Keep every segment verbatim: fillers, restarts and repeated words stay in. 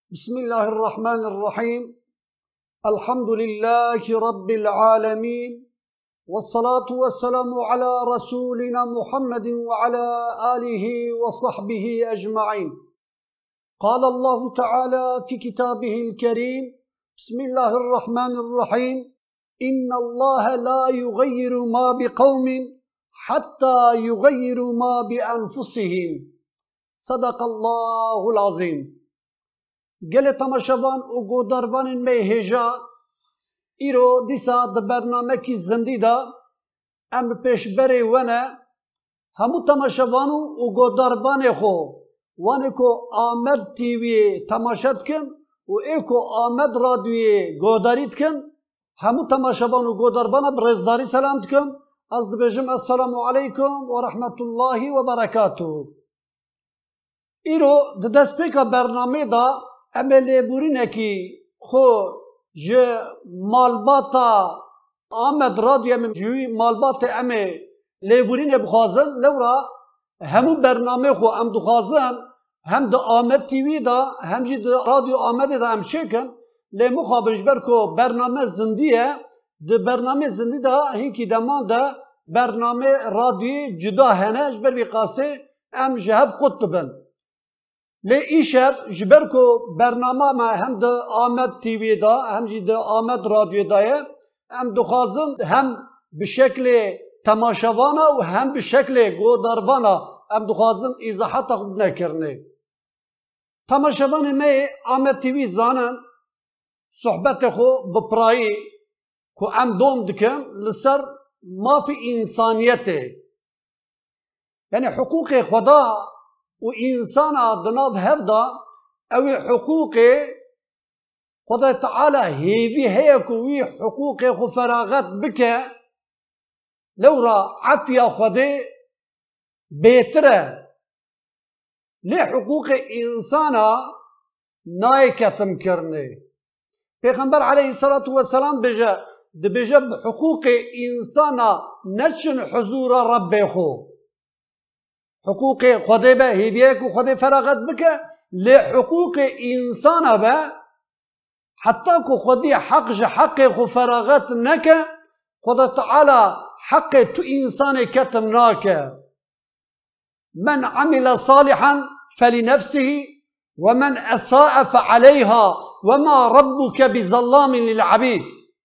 بسم الله الرحمن الرحيم الحمد لله رب العالمين والصلاة والسلام على رسولنا محمد وعلى آله وصحبه أجمعين. قال الله تعالى في كتابه الكريم بسم الله الرحمن الرحيم إن الله لا يغير ما بقوم حتى يغيروا ما بأنفسهم. صدق الله العظيم. گل تماشاوان و گوداروان می هجا ایرو دیسا د برنامه کی زندی دا ام پیشبری ونه همو تماشاوانو و گوداروان خو وانه کو آمد تیوی تماشات کن و ایکو آمد رادیوی گوداریت کن همو تماشاوان و گوداروان برزداری سلامت کن از دبجم السلام علیکم و رحمت الله و برکاته. ایرو د دسپیکا برنامه دا املی بورینه کی خو جه مالباتا آمد رادیو من جوی مالبات امه لیبورینه بخوازن لورا همون برنامه خو ام دخوازن هم دا آمد تیوی دا هم جی دا رادیو آمد دا هم چکن لی مخابنش برکو برنامه زندیه دا برنامه زندی دا هینکی دمان دا برنامه رادیو جدا هنه جبر بی قاسه ام جهب خود ببن لی ایشب جبر کو برنامه ما هم ده آمد تیوی دا هم جی ده آمد رادیو دایه هم دخوازن هم به شکل تماشاوانا و هم به شکل گوداروانا هم دخوازن ایزاحات خود نکرنه. تماشاوان می آمد تیوی زانن صحبت خو بپرایی که هم دوم دکن لسر ما فی انسانیته یعنی حقوق خدا و انسان دناب هفدا او حقوق خدا تعالى هيفي هيك وي حقوق خو فراغات بك لورا عفيا خدي بيتره لي حقوق انسان نايكتم كرني پیغمبر عليه الصلاة والسلام بجا دبجا حقوق انسان نشن حضور ربي خو حقوق خدا به هیویه کو خدا فراغت بکه لحقوق انسان به حتی کو خودی حق جه حق خو فراغت نکه خدا تعالی حق تو انسان کتم ناکه من عمل صالحا فلنفسه ومن اساء فعليها وما ربك بظلام للعبيد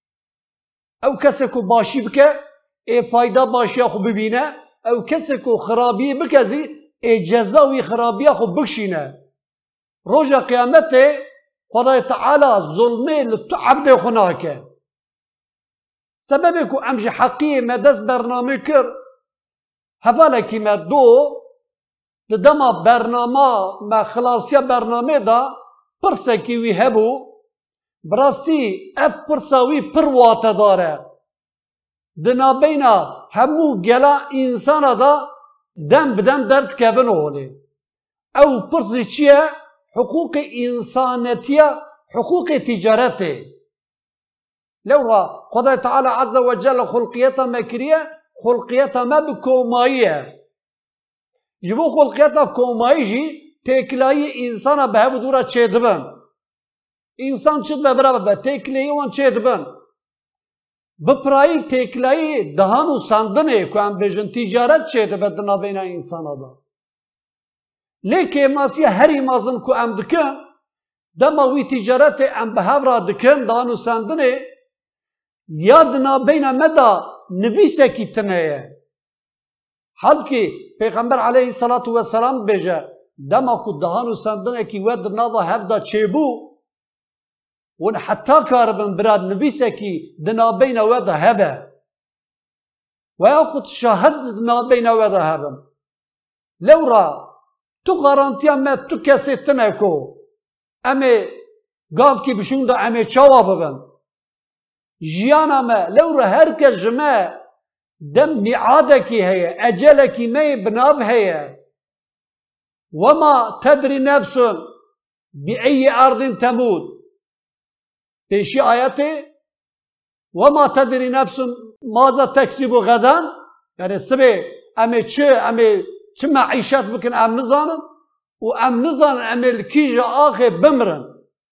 او کسی کو باشی بکه ای فایده باشی خو ببینه او کسی کو خرابی بکزی ای جزاوی خرابی خو بکشینه روژا قیامت خدای تعالی ظلمه لتو عبد خناکه سبب کو امج حقی مدس برنامه کر حواله کی ما دو دما برنامه ما خلاصیا برنامه دا پرسه کی وی هبو براستی اف پرساوی پر واته داره دنا بینا همو گلا انسان دا دم بدم درد کبن اولی او پرسی چیه؟ حقوق انسانیتیه حقوق تجارته لورا خدای تعالی عز و جل خلقیتا مکریه خلقیتا ما بکوماییه جبو خلقیتا کومایی جی تکلایی انسان به هفو دورا چه دبن انسان چید به برابر به تکلایی وان چه دبن بپرایی تکلایی دهان و سندنه که هم بجن تجارت چیده به دنابین انسان دا لیکن ماسی هری مازن که هم دکن دماوی تجارت هم به هفرا دکن دهان و سندنه یا دنابین مدا نویسه کی تنه حال که پیغمبر علیه الصلاة والسلام بجه دما که دهان و سندنه کی ود ناوا هفدا چه بو ون حتی کاربن براد نویسه کی دنابین وده هبه و یا خود شاهد دنابین وده هبن لورا تو غارانتیا ما تو کسی تنکو امی گاف کی بشون دا امی چاوا ببن جیانا ما لورا هر که جمع دم میعاده کی هیه اجل کی می بناب هیه وما تدری نفس بی ای ارض تموت پیشی آیته وما تدری نفس ماذا تکسب غدا یعنی سبه امی چه امی چه معیشت بکن ام نزانن و ام نزانن امی الکیج آخه بمرن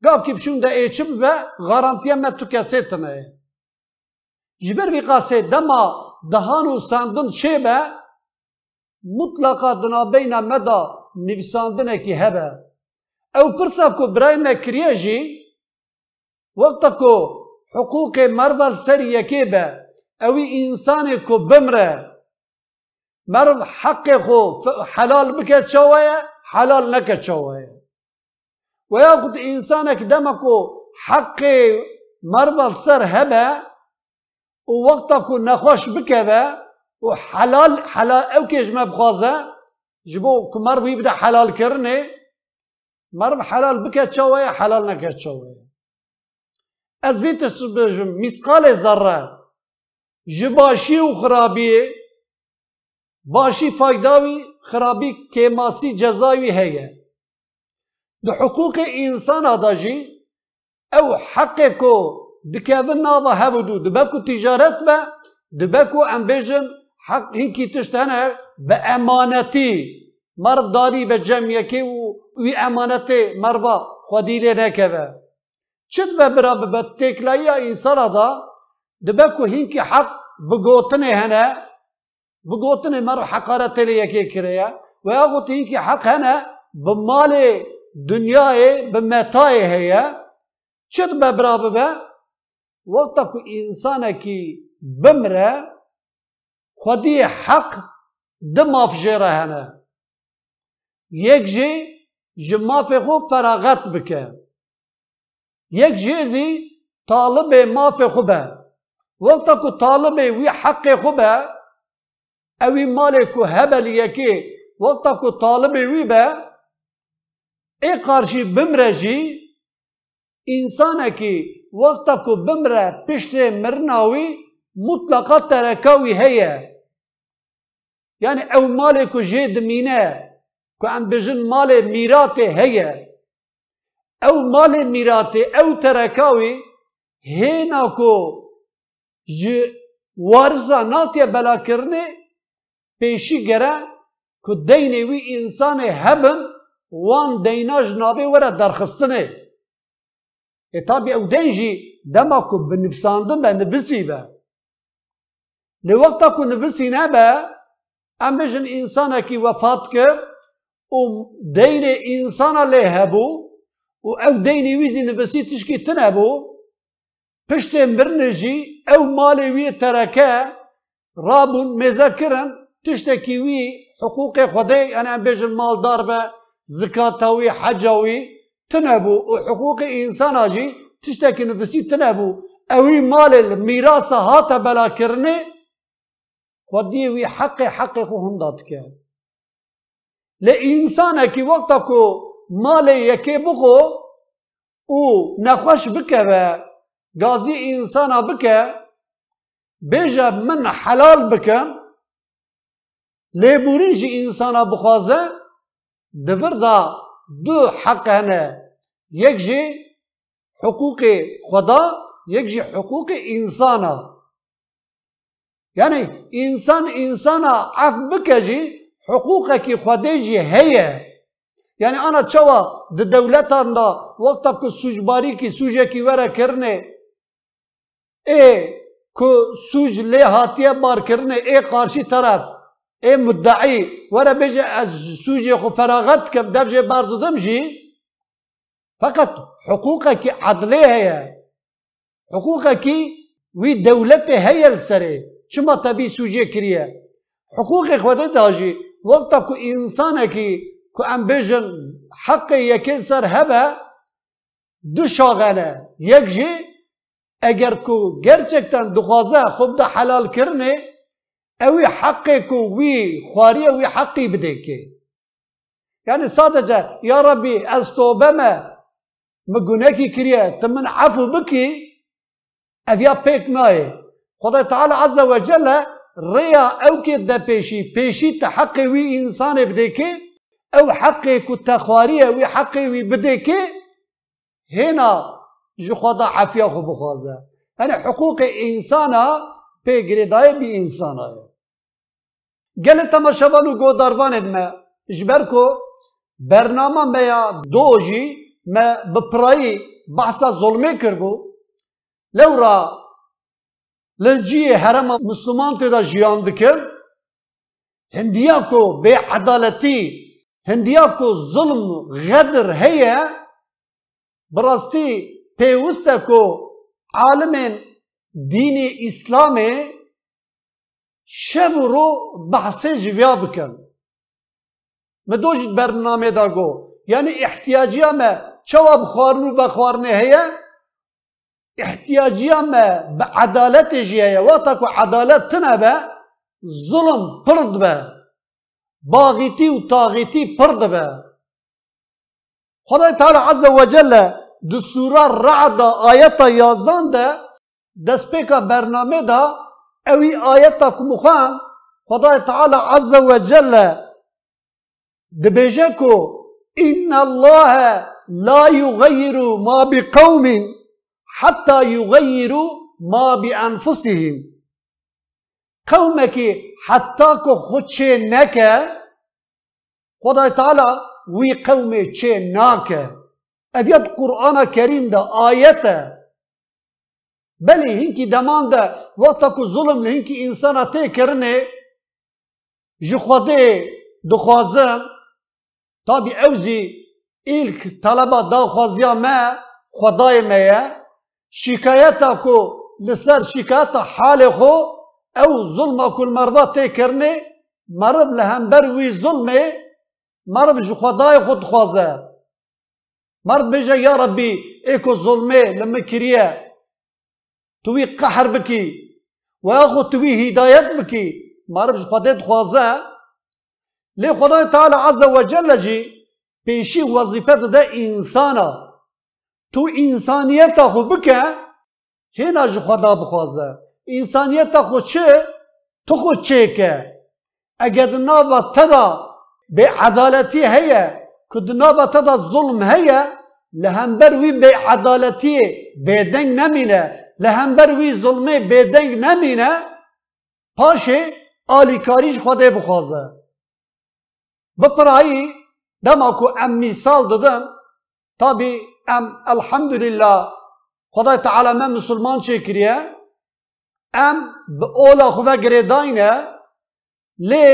قاف كيف شون دا ايشب با غارانتيا ما تو كاسيتنا جبر في قاسي دما دهانو ساندن شيبه مطلقا دنا بين مدى نفساندنه كي هبه او برسا كو براي ما كرياجي وقتا كو حقوق مرضى السري يكيبه اوي انسان كو بمره مرض حق خو حلال بك شويه حلال نك شويه وياخذ انسانك دمكو حق مرضى السر هبه ووقتك نخوش بكبه وحلال حلال او كيش ما بخازه جبو كمرض يبدا حلال كرني مرض حلال بك شويه حلال نك شويه از فيتش مثقال ذره جباشي وخرابي باشي فايداوي خرابي كيماسي جزاوي هي ده حقوق انسان داجي او حقكو دكافن ناضا هبدو دباكو تجارت با دباكو امبيجن حق هنكي تشتهنا بامانتي مرض داري بجميكي وي امانتي مرضى خديلي نكبه چت براب بتكلايا انسان دا دباكو هنكي حق بقوتني هنا بقوتني مر حقارة لي كي كريا وياخذ هنكي حق هنا بمالي دنياي بمتاي هي چت براب با وقتك انسانك بمره خدي حق دم افجره هنا يكجي جما في خو فراغت بك يكجي طالب ما في خبه وقتك طالب وي حق خبه اوي مالك هبل يكي وقتك طالب وي با اي قارشي بمرجي انسانك وقتك بمره پشت مرناوي مطلقا تركاوي هي يعني او مالك جيد مينه كو عن بجن مال ميراته هي او مال ميراته او تركاوي هيناكو ج وارزا ناتيا بلا كرني پیشی گره که دینی وی انسان هبن وان دینا جنابه وره درخستنه ای طبی او دینجی دما که بنفساندن به نفسی به لوقتا که نفسی نبه ام بجن انسانه که وفات کرد و دین انسانه لی هبو و او دینی ویزی نفسی تشکی تنبو پشت مرنجی او مالی وی ترکه رابون مذکرن تشتكي وي حقوق خدي انا بيجن مال داربه زكاتوي حجوي تنبو وحقوق انسان اجي تشتكي نفسي تنبو اوي مال الميراث هاتا بلا كرني خدي وي حق حقه هنداتك لانسانك وقتكو مال يكي بقو و نخوش بكبه غازي انسان بكه بيجا من حلال بكم لبوريجي انسانا بخوازه دبر دا دو حق هنا يكجي حقوق خدا يكجي حقوق انسانا يعني انسان انسانا عف بكجي حقوقك خديجي هي يعني انا تشوا د دولتنا وقتك سوجباري كي سوجكي ورا كرني ايه كو سوج لي هاتيه بار كرني ايه قارشي طرف اي مدعي ورا بيجي سوجي خو فراغت كم دبجي بارد دمجي فقط حقوقك عدليه هي حقوقك وي دولته هي السري شما تبي سوجي كريه حقوقك خودت داجي وقتك انسانك كو ام بيجن حق يكن سر هبه دو شاغله يكجي اگر كو gerçekten دخوازه خوب ده حلال كرني اوي حقك وي خواريه وي حقي بديكي يعني صادجه يا ربي استوبما مجونكي كريه تمن عفو بكي افيا بيك ناي خدای تعالى عز وجل ريا او كده بيشي بيشي تحقي وي انسان بديكي او حقي كتخواريه وي حقي وي بديكي هنا جو خدا عافيه خو بخوازه يعني حقوق انسانا بيجريداي بي انسانا قال تماشاوانو گو داروان ادمه جبركو برنامه ميا دوجي ما بپرایی بحثا ظلمه کربو لورا لنجی حرم مسلمان تدا جیان دکر هندیا کو بے عدالتی هندیا کو ظلم غدر هیا براستی پیوسته کو عالم دین اسلام شب رو بحث جویا بکن مدوج برنامه دا گو یعنی احتیاجی ما چواب خوارنو بخوارنه هیا احتیاجی ما بعدالت جیه واتا کو عدالت تنبه ظلم پرد به باغیتی و طاغیتی پرد به خدای تعالی عز و جل دو سوره رعد آیت یازدان ده دست پیکا برنامه دا اوی آیت کمخان خدای تعالی عز و جل دبیجه کو ان الله لا يغير ما بقوم حتى يغيروا ما بانفسهم قومك حتى کو خود چه نکه خدای تعالی وی قوم چه ناکه اویت قرآن کریم دا آیته بلی هنکی دمان دا وقتا کو ظلم لهنکی انسانا تی کرنه جی خوده دخوازن تابی اوزی ایلک طلبا دا خوازیا ما خدای مایه شکایتا کو لسر شکایتا حال خو او ظلم کل مرده تی کرنه مرد لهمبر وی ظلمه مرد جی خدای خود خوازه مرد بيجا يا ربي ايكو ظلمي لما كريه توي قهر بكي واخو توي هدايت بكي مرد خديت خوازه لي خدای تعالى عز وجل جي بيشي وظيفه ده انسانا تو انسانيت اخو بكه هنا جو خدا بخوازه انسانيت اخو چه تو خو چيكه اگه نابا تدا بعدالتي هي كدنابة تدا الظلم هي لهمبر وي بعدالتي بيدنگ نمينه لهمبر وي ظلمي بيدنگ نمينه پاشه آلی کاریش خوده بخوازه بپرایی دماکو ام مثال دادن تابی ام الحمدلله خدای تعالی من مسلمان چکریه ام به اولا خواه گریداینه لی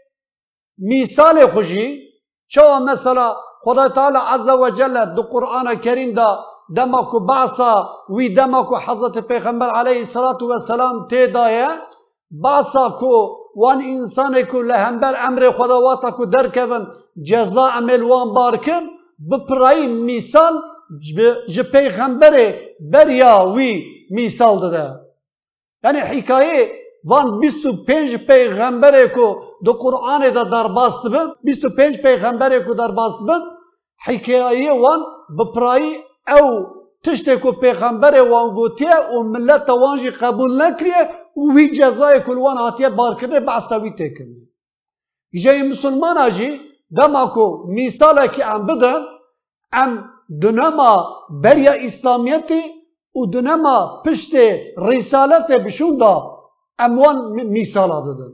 مثال خوشی شو مثلا خدای تعالی عز و جل دو قرآن کریم دا دماکو بعثا وی دماکو حضرت پیغمبر علیه الصلاة والسلام تی دایه بعثا کو وان انسان کو لهمبر امر خداواتا کو درکون جزا عمل وان بارکن بپرایی مثال ج پیغمبر بریا وی مثال داده یعنی حکایه وان بیست و پنج پیغمبره کو دو قرآن دا در باست بند بیست و پنج پیغمبره کو در باست بند حکایه وان بپرایی او تشته کو پیغمبره وان گوتیه و ملت وانجی قبول نکریه و وی جزای کل وان آتیه بار کرده بعصاوی تکنه جای مسلمان آجی دما کو مثاله که ام بدن ام دنما بریا اسلامیتی و دنما پشت رسالت بشون دا اموان مثال دادن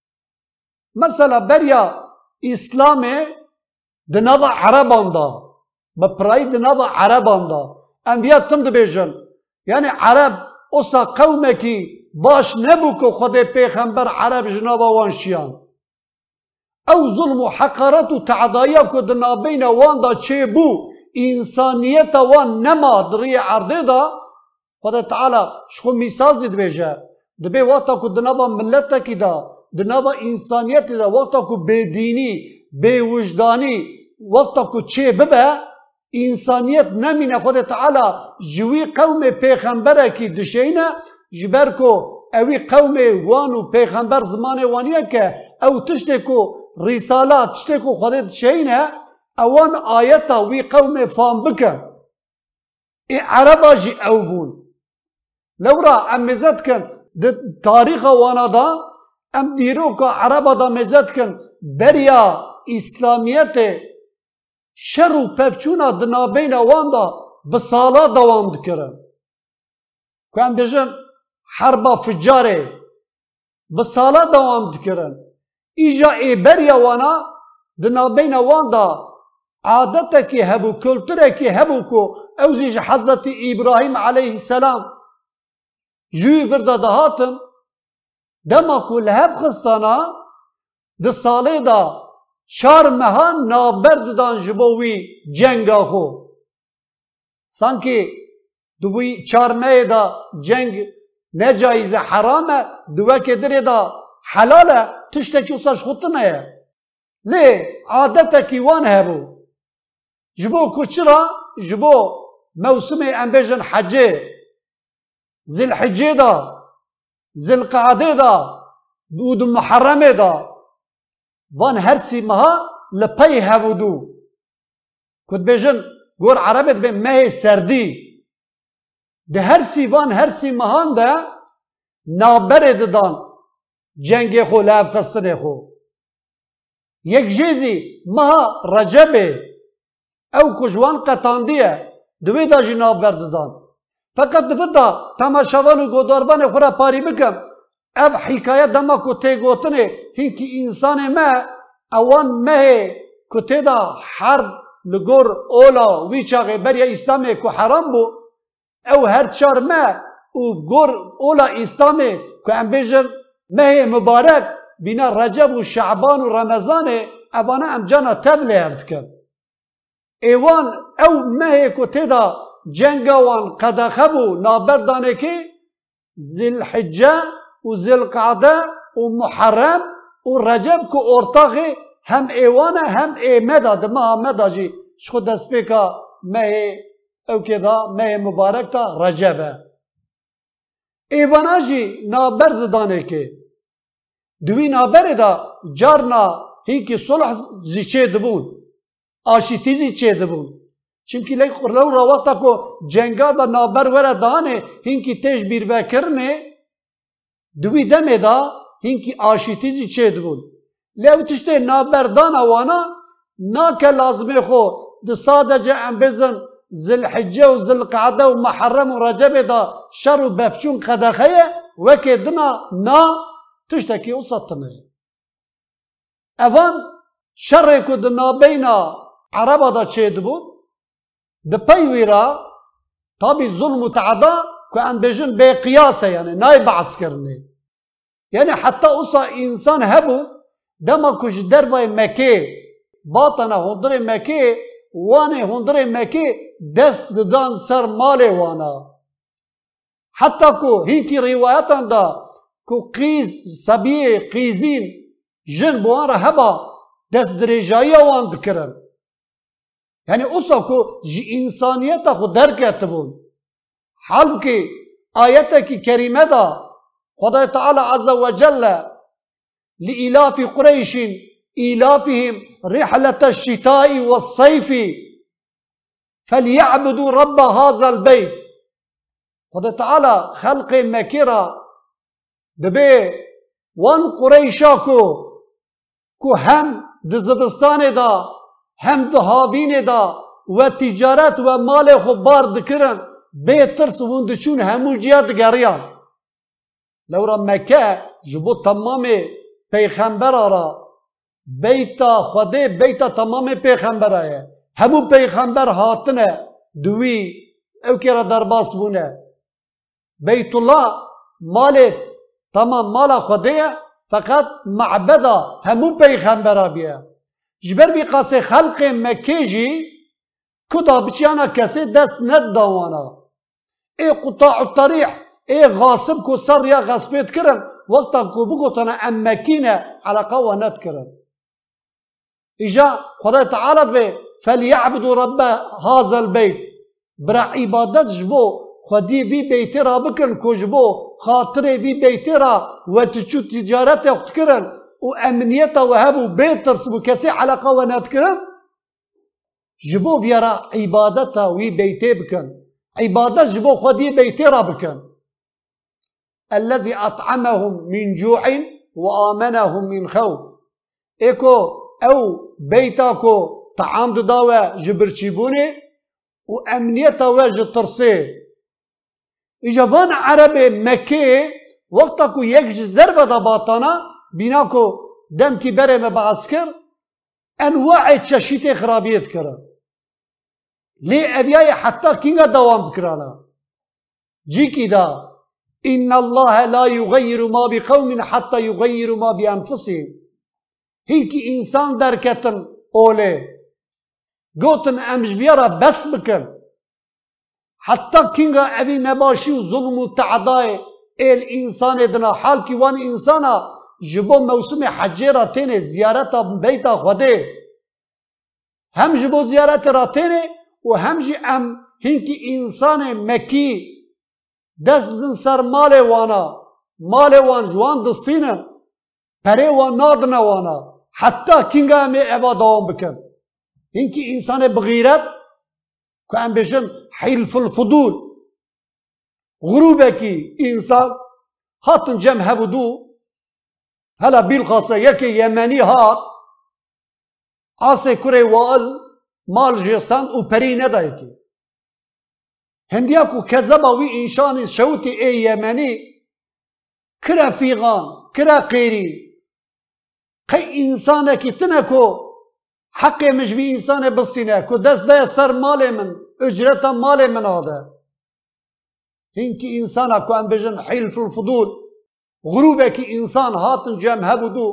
مثلا بریا اسلام دنوا عربان دا بپرای دنوا عربان دا انبیاء تم دبیجن یعنی عرب اوسا قومه کی باش نبو که خود پیغمبر عرب جنابا وانشیان او ظلم و حقارت و تعدایه که دنابین وان دا چه بو انسانیت وان نما دری عرده دا خود تعالی شخو مثال زید بیجه دبی وقتا کو دنابا ملتا کی دا دنابا انسانیت دا وقتا کو بدینی بی وجدانی وقتا کو چه ببه انسانیت نمینه خود تعالی جوی قوم پیغمبره کی دشینه جبر کو اوی قوم وانو پیغمبر زمان وانیه که او تشته کو رسالات تشته کو خود دشینه اوان آیتا وی قوم فام بکن ای عربا جی او بون لورا امزد کن تاریخ وانا دا ام دیرو که عربا دا مزد کن بریا اسلامیت شر و پفچونا دنابین وان دا بسالا دوام دکرن که ام بجن حربا فجاره بسالا دوام دکرن ایجا ای بریا وانا دنابین وان دا عادتك هبو كلترك هبو كو اوزيج حضرت إبراهيم عليه السلام جوي فردا دهاتن دما كل هف خستانا ده ساله دا چار مهان نابرد دان جبوی جنگا خو سانکی دوی چار مه دا جنگ نجایز حرامه دوه که دره دا حلاله تشتکی وصاش خودتنه یه لی عادتکی وان هبو جبو کچرا جبو موسم انبیجن حجه ذی الحجه دا ذی القعده دا دود محرمه دا وان هرسي مها لپی هودو کد بیجن گور عربت به مه سردی ده هرسي وان هرسي مهان ده نابرد دان جنگ خو لعب خستن خو یک جیزی مها رجبه او کجوان قطاندیه دوی دا جی نابرد دان فقط دفتا تماشاوان و گوداربان خورا پاری بکم اف حکایت دما کو تی گوتنه هینکی انسان ما اوان مه کو تی دا حرب لگور اولا وی چاقه بریا اسلامی کو حرام بو او هر چار مه او گور اولا اسلامی کو ام بیجر مه مبارک بینا رجب و شعبان و رمضان اوانا ام جانا تبله هفت کن ایوان او مه کو تی دا جنگوان قدخبو نابردانه که ذی الحجه و ذی القعده و محرم و رجب که ارتاقی هم ایوانه هم ایمده دمه همه جی شخو دست پیکا مه او که دا مه مبارک تا رجبه ایوانه جی نابرد دانه که دوی نابرد دا جارنا هینکی صلح زی چه دبون آشیتی زی چه دبون چونکی لی خورلو را وقتا که جنگا دا نابر وره دانه هینکی تیش بیر وکرنه دوی دمه دا هینکی آشیتیزی چه دبون لیو تشته نابردان اوانا نا که لازمه خو ده سادجه ام بزن ذی الحجه و ذی القعده و محرم و رجب دا شر و بفچون قدخه وکه دنا نا تشته که اصطنه اوان شر که ده نابینا عربا دا چه دبون ده پیوی را تابی ظلم و تعدا که ام بجن به قیاسه یعنی نای بعث کرنه یعنی حتی اصا انسان هبو دما کش دروای مکه باطنه هندر مکه وانه هندر مکه دست دان سر مال وانا حتی که هینکی روایتان دا که قیز سبیه قیزین جن بوان را هبا دست درجایی وان دکرن یعنی اصا که جی انسانیت خود درکت بون حال که آیت کی کریمه دا خدا تعالی عز وجل لإلاف قريش إلافهم رحلة الشتاء والصيف فليعبدوا رب هذا البيت خدا تعالی خلق مکیرا دبی وان قریشا کو کو هم دزبستان دا هم دهاوین دا و تجارت و مال خو بار دکرن به ترس وندشون همو جیاد گریان لورا مکه جبو تمام پیغمبر را بیتا خوده بیتا تمام پیغمبر آیا همو پیغمبر هاتنه دوی او که را درباست بونه بیت الله مال تمام مال خوده فقط معبده همو پیغمبر بیا جبر بی قاسه خلق مکه جی کدا بچیانا کسی دست ند داوانا ای قطاع الطریح ای غاصب کو سر یا غصبیت کرن وقتا کو بگوتنا ام مکینه علاقه و ند کرن ایجا خدای تعالی به فلیعبدوا رب هذا البيت برا عبادت جبو خودی وی بیتی را بکن کو جبو خاطر وی بیتی را و تچو تجارت اخت کرن و امنیت و هبو بیتر سبو کسی علاقه و ند کرن جبو ویرا عبادت وی بیتی بکن عبادت جبو خودی بیتی را بکن الذي اطعمهم من جوع وآمنهم من خوف ايكو او بيتاكو طعام داوى جبرشيبوني وامنيتا واجه ترسي اجابان عربي مكي وقتاكو يكج ضربة دا باطانا بيناكو دم كبيرة ما بعسكر انواع چشیت خرابیت کرا لی اویای حتی کینگا دوام بکرانا جی کی دا ان الله لا يغير ما بقوم حتى يغيروا ما بانفسهم هیکی انسان درکتن اوله گوتن امجویارا بس بکن حتی کینگا اوی نباشی و ظلم و تعدای ال انسان دنا حال کی وان انسانا جبو موسم حجه را تینه زیارت بیتا خوده هم جبو زیارت را تینه و هم جی ام هنکی انسان مکی دست بدن سر مال وانا مال وان جوان دستینه پره وان نادنه وانا حتی کینگا همی ابا دوام بکن هنکی انسان بغیرت که ام بشن حلف الفضول غروبه کی انسان هاتن جمع هبودو هلا بالخاصة يكي يمني هات عاصي كوري وال مال جيسان و پري ندايكي هندياكو كذباوي انشان شوتي اي يمني كرا فيغان كرا قيري قي انسانكي تنكو حق مش في انسان بصينه كو دست ده سر مال من اجرتا مال من هذا هنكي انسانكو ام بجن حلف الفضول غروبك انسان هاتن جم هبودو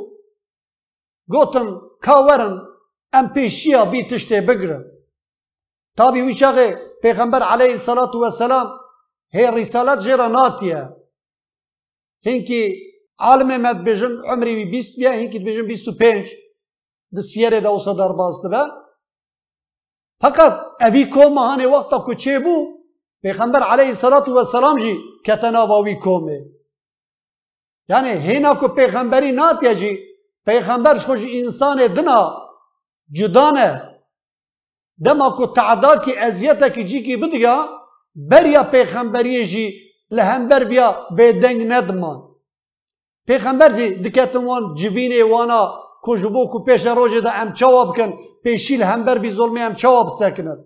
گوتن کاورن ام پیشیا بی تشته بگرن تابی ویچاقه پیغمبر علیه الصلاة والسلام هی رسالت جرا ناتیه هنکی عالم مد بجن عمری بی بیست بیا هنکی بجن بیست و پنج ده سیره ده اوسا در بازده به فقط اوی کوم هانه وقتا که چه بو پیغمبر علیه الصلاة والسلام جی کتناواوی کومه یعنی هینا کو پیغمبری ناتیا جی پیغمبر خوش انسان دنا جدانه دما کو تعدا کی اذیت کی جی کی بدیا بریا پیغمبری جی لهمبر بیا بدنگ ندمان پیغمبر جی دکتن وان جوینه وانا کو جبو کو پیش روزه دا ام جواب کن پیشیل همبر بی ظلمی ام جواب سکنه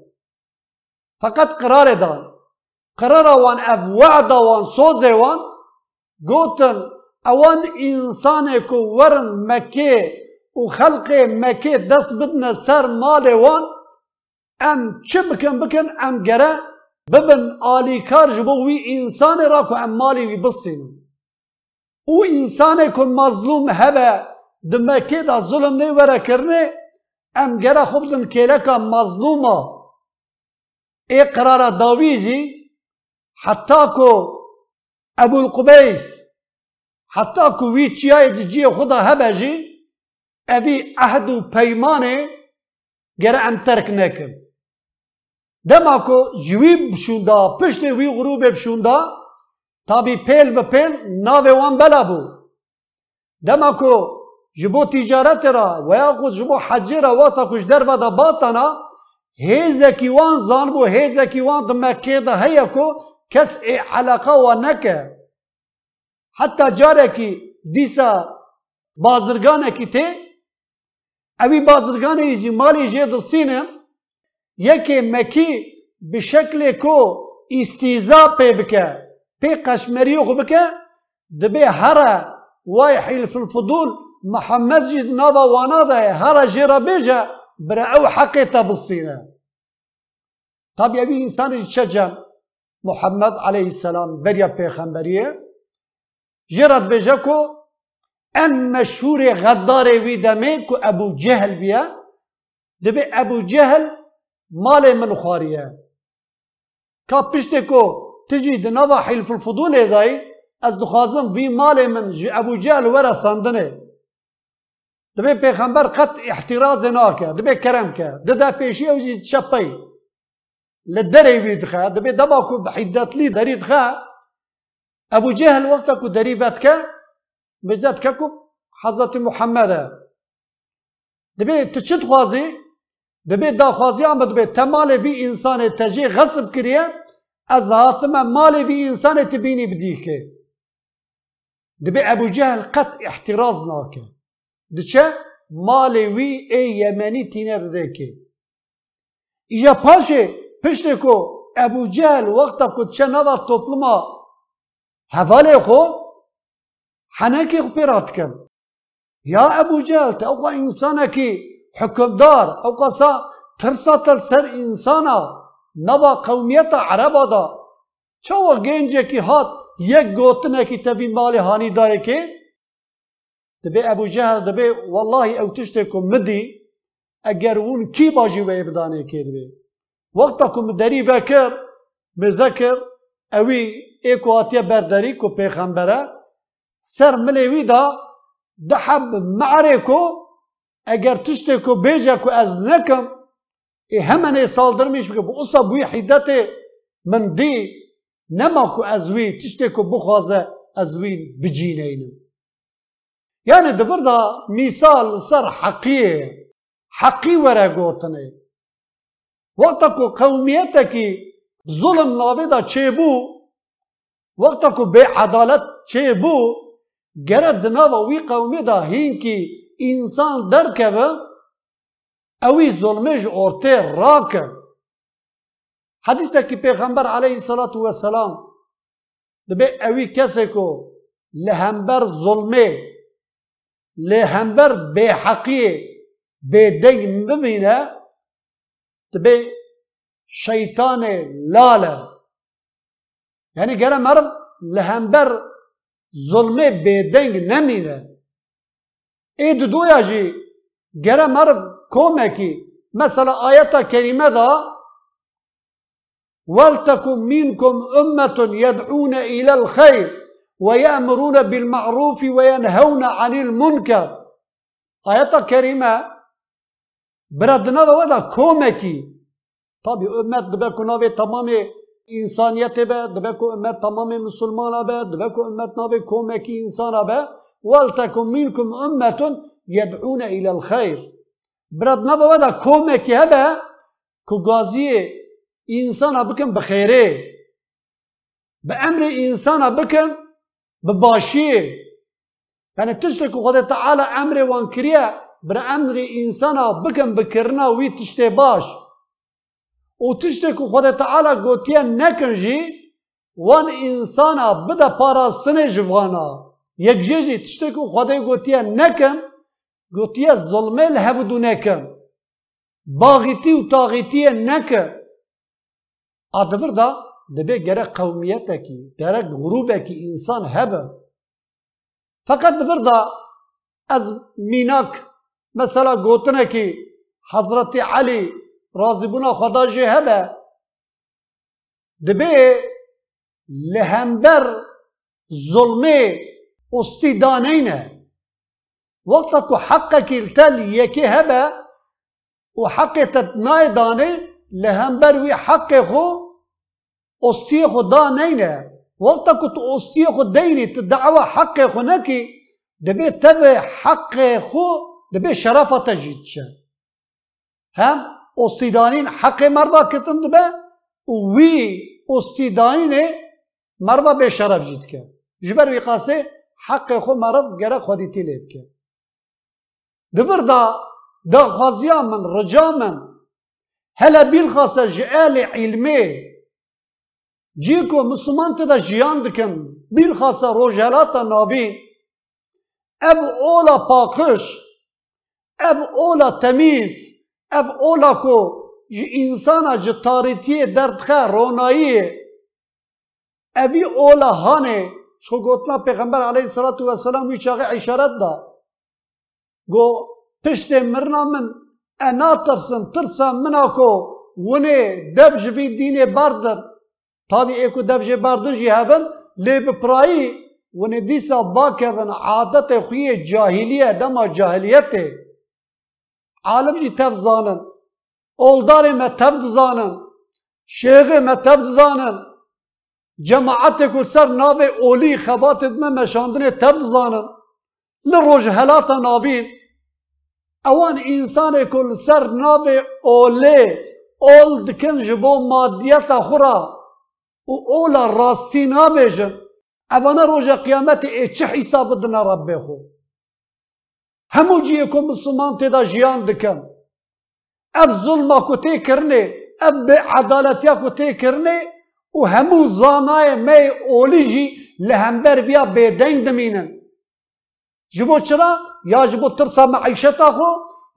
فقط قرار دان قرار وان اف وعد وان صوز وان گوتن اوان انسان کو ورن مکه و خلق مکه دست بدن سر مال وان ام چه بکن بکن ام گره ببن آلی کار جبو وی انسان را کو ام مالی وی بستین او انسان کو مظلوم هبه د مکه دا ظلم نه وره کرنه ام گره خوب دن کلکا مظلومه ای قرار داویزی حتی کو ابو القبیس حتی که وی چیای جی خدا هبه جی اوی عهد و پیمانه گره ام ترک نکن دما که جوی بشونده پشت وی غروب بشونده تابی پیل به پیل ناوه وان بلا بو دما که جبو تجارت را و یا خود جبو حجی را واتا کش در و دا باتانا هیزکی وان زان بو هیزکی وان دمکه دا هیا که کس ای علاقه و نکه حتی جاره کی دیسا بازرگانه کی ته اوی بازرگانه ایجی مالی جه دستینه یکی مکی به شکل کو استیزا پی بکه پی قشمریو خو بکه دبی هره وای حلف الفضول محمد جید نادا وانا ده هره جیرا بیجه برا او حقی تا بستینه طب اوی انسان چه محمد علیه السلام بریا پیغمبریه جرد بجا کو ان مشهور غدار وی دمه کو ابو جهل بیا دبی ابو جهل مال من خواریه کا پشته کو تجی دنوا حلف الفضول دای از دخوازم وی مال من ابو جهل ورا ساندنه دبی پیغمبر قط احتراز ناکه دبی کرم که ددا پیشی اوجی چپی لدری وی دخه دبی دبا کو بحیدت لی دری دخه ابو جهل وقتا کو دریبت که بزد که کو حضرت محمد دبی تچت خوازی دبی دا خوازی آمد دبی تمال بی انسان تجی غصب کریه از هاتم مال بی انسان تبینی بدیه که دبی ابو جهل قط احتراز ناکه دچه مال وی ای یمنی تینه ده که ایجا پاشه پشت کو ابو جهل وقتا کو چه ندا توپلما حواله خو حناکی خو پیرات کن یا ابو جهل تا اوقا انسانه کی حکمدار او قصا ترسا تلسر انسانا نوا قومیت عربا دا چو گنجه کی هات یک گوتنه کی تبی مال هانی داره که دبی ابو جهل دبی والله او تشتكم مدي اگر اون کی باجی و ابدانه کرده وقتكم دری بکر بذکر اوی ایکو آتیه برداری کو پیغمبره سر ملیوی دا دحب معرکو اگر تشتكو بیجه کو از نکم ای همانه سالدرمیش بکر بو اصا بوی حیدت من دی نما کو ازوی تشتكو بخوازه ازوی بجینه اینو يعني دبر دا مثال سر حقية حقي ورا قوتني وقتكو قوميتكي ظلم نابدا چيبو وقتكو بعدالت چيبو گرد ناوا وي قومي دا هينكي انسان دركبه اوي ظلمج اورتي راكه حديثك پیغمبر عليه الصلاة والسلام دبي اوي كسكو لهمبر ظلمه لهمبر بحقي بدين بمينه تبي شيطان لاله يعني جرى مرض لهمبر ظلمه بدين نمينه ايه دو ياجي جرى مرض كومكي مثلا آيات كريمة دا ولتكن منكم أمة يدعون إلى الخير ويأمرون بالمعروف وينهون عن المنكر آيات كريمة بردنا ودا كومكي طبي أمة دبكو نابي تمام إنسانية به دبكو أمة تمام مسلمان به دبكو أمة نابي كومكي إنسان به ولتكن منكم أمة يدعون إلى الخير بردنا ودا كومكي هبه كغازي إنسان بكن بخيره بأمر إنسان بكن بباشي يعني تشتكي خدا تعالى أمر وانكريا بر أمر إنسان بكن بكرنا وي تشتي باش وتشتكي خدا تعالى قوتيا نكنجي وان إنسان بدا باراستن جوانا يكجيجي تشتكي خدا قوتيا نكن قوتيا ظلمي الهبدو نكن باغيتي وطاغيتي نكن أدبر دا دبي جرى قوميتك جرى غروبك إنسان هبه فقط بردا از ميناك مثلا قوتنا كي حضرت علي رازبنا خدا جي هبه دبي لهمبر ظلمي استدانينه وقتك حقك التل يكي هبه وحق تتناي داني لهمبر وي حق خو استی خدا نینه وقتا که تو استی خود دینی تدعوه حق خو نکی دبی تبه حق خو دبی شرافت جید شه هم استیدانین حق مردا کتن دبه وی استیدانین مردا به شرف جید که جبر وی قاسه حق خو مرد گره خودی تیلیب که دبر دا دا غازیا من رجا من هلا بیل خاصه جعال علمي جيكو مسلمان تدا جيان دكن بالخاصة روجالاتا نابين اب اولا باقش اب اولا تميز اب اولا كو جي انسانا جتاريتيه دردخه رونائيه ابي اولا هاني شو قلتنا پیغمبر عليه الصلاة والسلام ويشاغي اشارت دا گو پشت مرنا من انا ترسن ترسن مناكو وني دبج في ديني باردر طبعا ايكو دبجه باردن جي هبن لي بپرائي ونديسا باكرن عادت خوية جاهلية دما جاهليته عالم جي تفزانن اولداري ما تفزانن شيخي ما تفزانن جماعت كل سر نابي اولي خبات ادنا مشاندن تفزانن لروج هلاتا نابين اوان انسان كل سر نابي اولي اول دكن جبو ماديات خورا و اولا راستی نابیجن اوانا روژ قیامت ای چه حساب دنا ربی خو همو جیه که مسلمان تیدا جیان دکن اف ظلما کو تی کرنه اف عدالتیا کو تی کرنه و همو زانای می اولی جی لهمبر بیا بیدنگ دمینن جبو چرا یا جبو ترسا معیشتا خو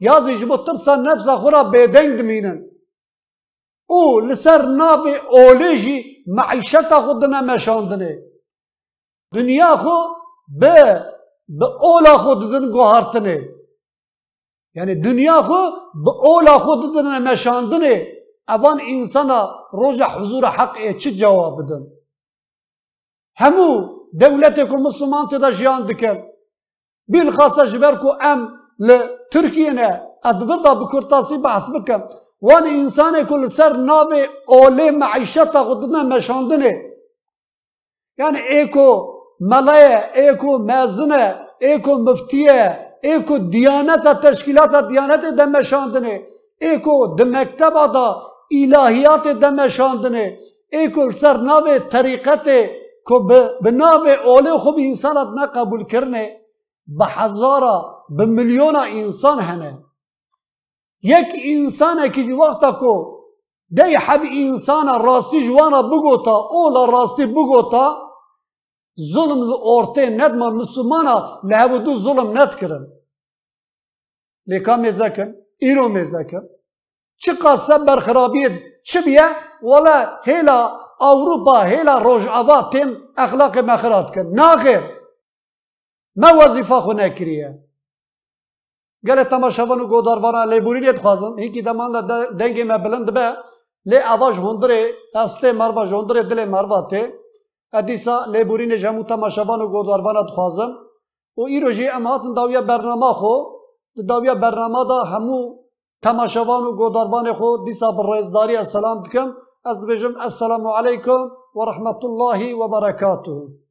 yazı ji bo tirsa nefsa xura bêdeng dimînin û li ser navê olê jî meîşeta xwe dine meşandinê dünya xwe bi bi ola xwe didin guhartinê yani dünya xwe bi ola xwe didine meşandinê evan insana roja huzura heqê çi cewab bidin hemû dewletê ku Müslüman tê de jiyan dikin bilxasa ji ber ku em li Tirkiyeyê ev vir da bi kurtasî behs bikin wan însanê ku li ser navê olê meîşeta xwe dine meşandinê yani ê ku mela ye ê ku mezin e ê ku müftî ye ê ku diyaneta teşkîlata diyanetê de meşandinê ê ku di mekteba da îlahiyatê de meşandinê ê ku li ser navê terîqetê ku bi navê olê xwe bi însanat neqebûlkirinê bi hezara bi milyona însan hene yek însanekî jî wexta ku dey heb însana rastî ji wan re bigota ola rastî bigota zulm li ortê nedma Müslümana li hevûdû zulm nedkirin lê ka mêzekin îro mêzekin çi qase berxirabiyê çi biye wala hêla Awropa hêla rojava tên exlaqê me xira dikin naxêr me wezîfa xwe nekiriye gelê temaşevan û godarvanan lêborînê dixwazim hînkî deman de dengê me bilind dibe lê eva ji hundirê hestê merva ji hundirê dilê merva tê e dîsa lêborînê ji hemû temaşevan û godarvana dixwazim û îro jî em hatin dawiya bernama xwe di dawiya bernama da hemû temaşevan û godarvanê xwe dîsa bi rêzdariya selam dikim ez dibêjim esselamu aleykum ve rahmetullahi ve berekatuhu